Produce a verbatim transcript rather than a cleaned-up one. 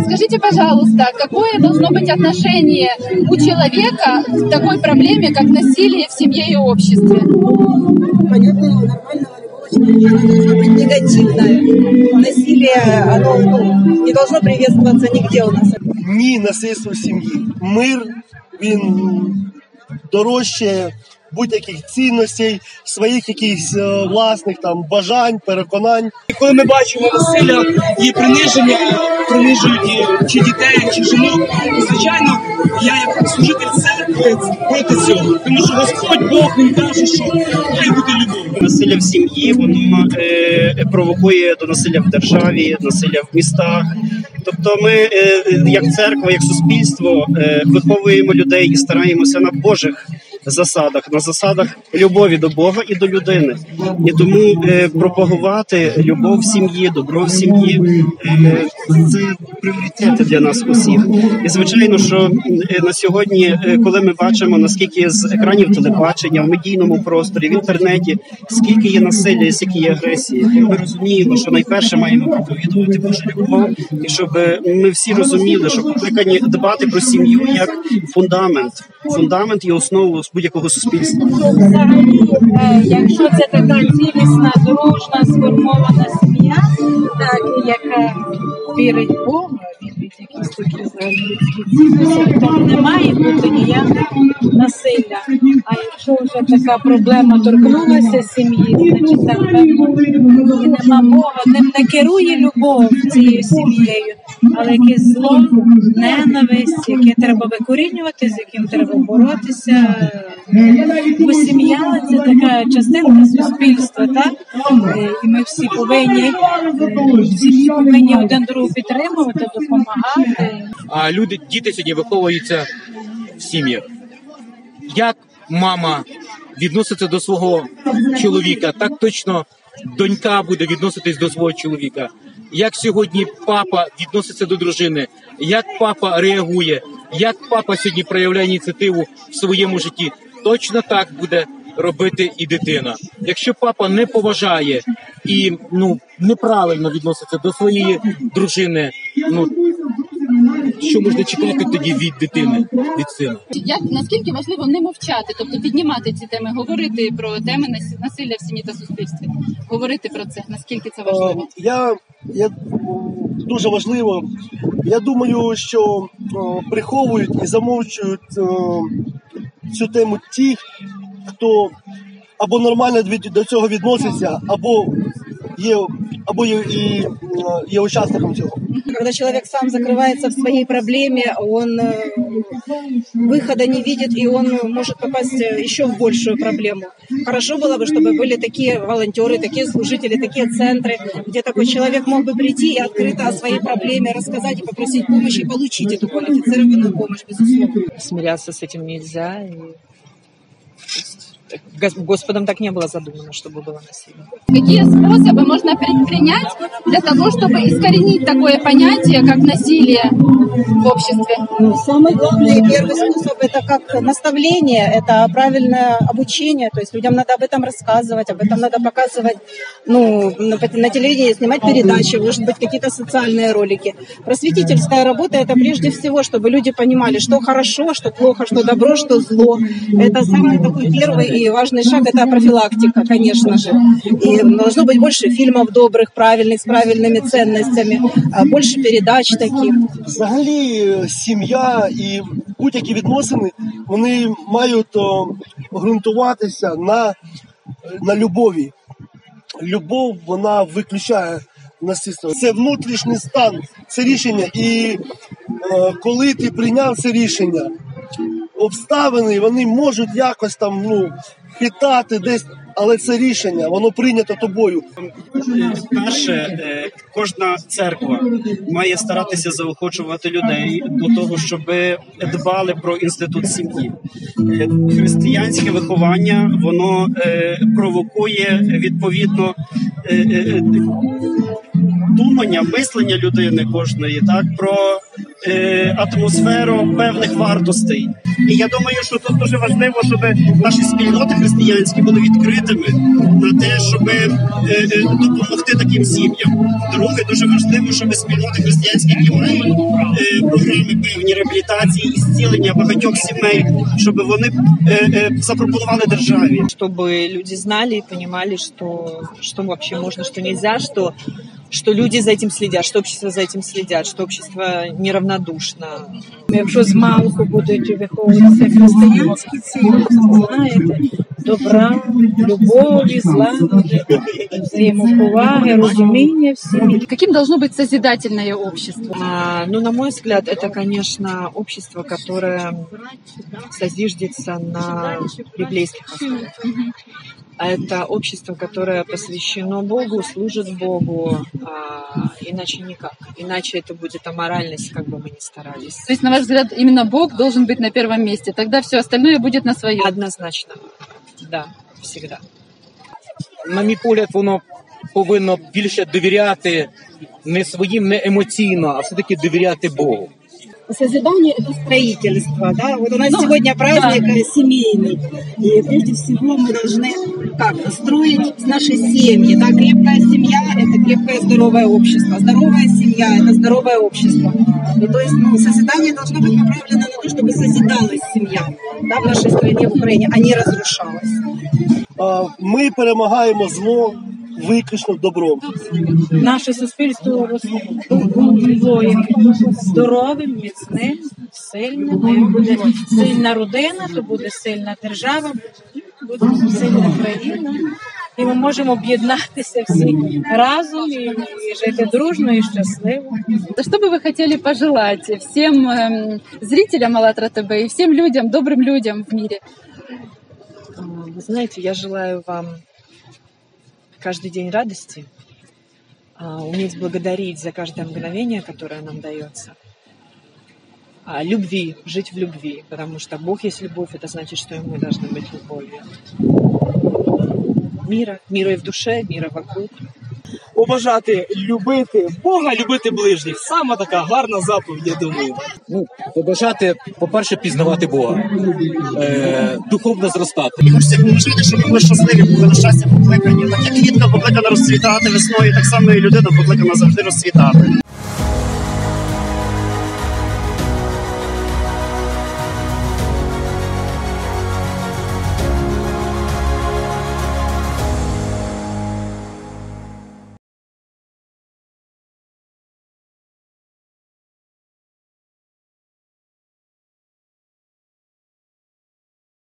скажите, пожалуйста, какое должно быть отношение у человека к такой проблеме, как насилие в семье и обществе? Понятно, нормального любого человека должно быть негативное. Насилие, оно ну, не должно приветствоваться нигде у нас. Ні насильство в сім'ї. Мир, він дорожче будь-яких цінностей, своїх якихось е, власних там бажань, переконань. Коли ми бачимо насилля і приниження, принижують чи дітей, чи жінок, то, звичайно, я як служитель церкви проти цього. Тому що Господь Бог, Він каже, що має бути любов. Насилля в сім'ї, воно е, провокує до насилля в державі, насилля в містах. Тобто ми, е, як церква, як суспільство, е, виховуємо людей і стараємося на Божих засадах, на засадах любові до Бога і до людини. І тому е, пропагувати любов в сім'ї, добро в сім'ї е, – це пріоритети для нас усіх. І звичайно, що е, на сьогодні, е, коли ми бачимо, наскільки з екранів телебачення, в медійному просторі, в інтернеті, скільки є насилля, скільки є агресії, ми розуміємо, що найперше маємо проповідувати Божу любов, і щоб ми всі розуміли, що покликані дбати про сім'ю як фундамент, фундамент і основу будь-якого суспільства. Якщо це така цілісна, дружна, сформована сім'я, так, яка вірить в Бога, вірить в якісь такі людські цінності, то не має бути ніякого насилля. А якщо вже така проблема торкнулася сім'ї, значить так певно і нема Бога, ним не керує любов цією сім'єю, але якесь зло, ненависть, яке треба викорінювати, з яким треба боротися. Бо сім'я – це така частинка суспільства, так? І ми всі повинні, всі повинні один другого підтримувати, допомагати. А люди, діти сьогодні виховуються в сім'ях. Як мама відноситься до свого чоловіка, так точно донька буде відноситись до свого чоловіка. Як сьогодні папа відноситься до дружини, як папа реагує, як папа сьогодні проявляє ініціативу в своєму житті, точно так буде робити і дитина. Якщо папа не поважає і ну, неправильно відноситься до своєї дружини, ну, що можна чекати тоді від дитини, від сина? Як, наскільки важливо не мовчати, тобто піднімати ці теми, говорити про теми насилля в сім'ї та суспільстві, говорити про це, наскільки це важливо? Я, я дуже важливо. Я думаю, що о, приховують і замовчують о, цю тему ті, хто або нормально до цього відноситься, або є, або є, і, є учасником цього. Когда человек сам закрывается в своей проблеме, он выхода не видит, и он может попасть еще в большую проблему. Хорошо было бы, чтобы были такие волонтеры, такие служители, такие центры, где такой человек мог бы прийти и открыто о своей проблеме рассказать и попросить помощи, и получить эту квалифицированную помощь, безусловно. Смиряться с этим нельзя. И... Господом так не было задумано, чтобы было насилие. Какие способы можно предпринять для того, чтобы искоренить такое понятие, как насилие в обществе? Самый главный и первый способ – это как наставление, это правильное обучение. То есть людям надо об этом рассказывать, об этом надо показывать, ну, на, на телевидении, снимать передачи, может быть, какие-то социальные ролики. Просветительская работа – это прежде всего, чтобы люди понимали, что хорошо, что плохо, что добро, что зло. Это самый такой первый и важный шаг – это профилактика, конечно же. И должно быть больше фильмов добрых, правильных, с правильными ценностями, больше передач таких. Взагалі, сім'я і будь-які відносини, вони мають о, ґрунтуватися на, на любові. Любов, вона виключає насильство. Це внутрішній стан, це рішення. І е, коли ти прийняв це рішення, обставини, вони можуть якось там, ну, хитати десь, але це рішення, воно прийнято тобою. Перше, кожна церква має старатися заохочувати людей до того, щоб дбали про інститут сім'ї. Християнське виховання, воно провокує, відповідно, думання, мислення людини кожної, так, про атмосферу певних вартостей. І я думаю, що тут дуже важливо, щоб наші спільноти християнські були відкритими на те, щоб е, е, допомогти таким сім'ям. Друге, дуже важливо, щоб спільноти християнські, які мають е, програми певні реабілітації і зцілення багатьох сімей, щоб вони е, е, запропонували державі. Чтобы люди знали и понимали, что, что вообще можно, что нельзя, что, что люди за этим следят, что общество за этим следят, что общество неравнодушно. Якщо з малку будуть виховуватися християнські цінності, знаєте, добра, любові, злагоди, взаємоповаги, розуміння всіх. Каким должно быть созидательное общество? А, ну, на мой взгляд, это, конечно, общество, которое созиждется на библейских основах. А это общество, которое посвящено Богу, служит Богу, а, иначе никак. Иначе это будет аморальность, как бы мы ни старались. То есть, на ваш взгляд, именно Бог должен быть на первом месте, тогда все остальное будет на своем. Однозначно, да, всегда. На мій погляд, воно повинно більше довіряти не своїм, не емоційно, а все-таки довіряти Богу. Созидание – это строительство, да. Вот у нас сегодня праздник да. семейный, и прежде всего мы должны как строить наши семьи, да. Крепкая семья – это крепкое здоровое общество, здоровая семья – это здоровое общество. И то есть, ну, созидание должно быть направлено на то, чтобы созидалась семья, да, в нашей стране, в Украине, а не разрушалась. Ми перемагаємо зло виключно добром. Наше суспільство було здоровим, міцним, сильним. Як буде сильна родина, то буде сильна держава, буде сильна країна. І ми можемо об'єднатися всі разом і, і жити дружно і щасливо. Что бы вы хотели пожелать всем э, зрителям АЛЛАТРА ТВ и всем людям, добрым людям в мире? Вы знаете, я желаю вам каждый день радости, уметь благодарить за каждое мгновение, которое нам дается, любви, жить в любви, потому что Бог есть любовь, это значит, что и мы должны быть любовью. Мира, мира и в душе, мира вокруг. Побажати любити Бога, любити ближніх. Саме така гарна заповідь, я думаю. Ну, побажати, по-перше, пізнавати Бога, е, духовно зростати. І хочеться побажати, щоб ми були щасливі, були на щастя покликані. Так як квітка покликана розцвітати весною, так само і людина покликана завжди розцвітати.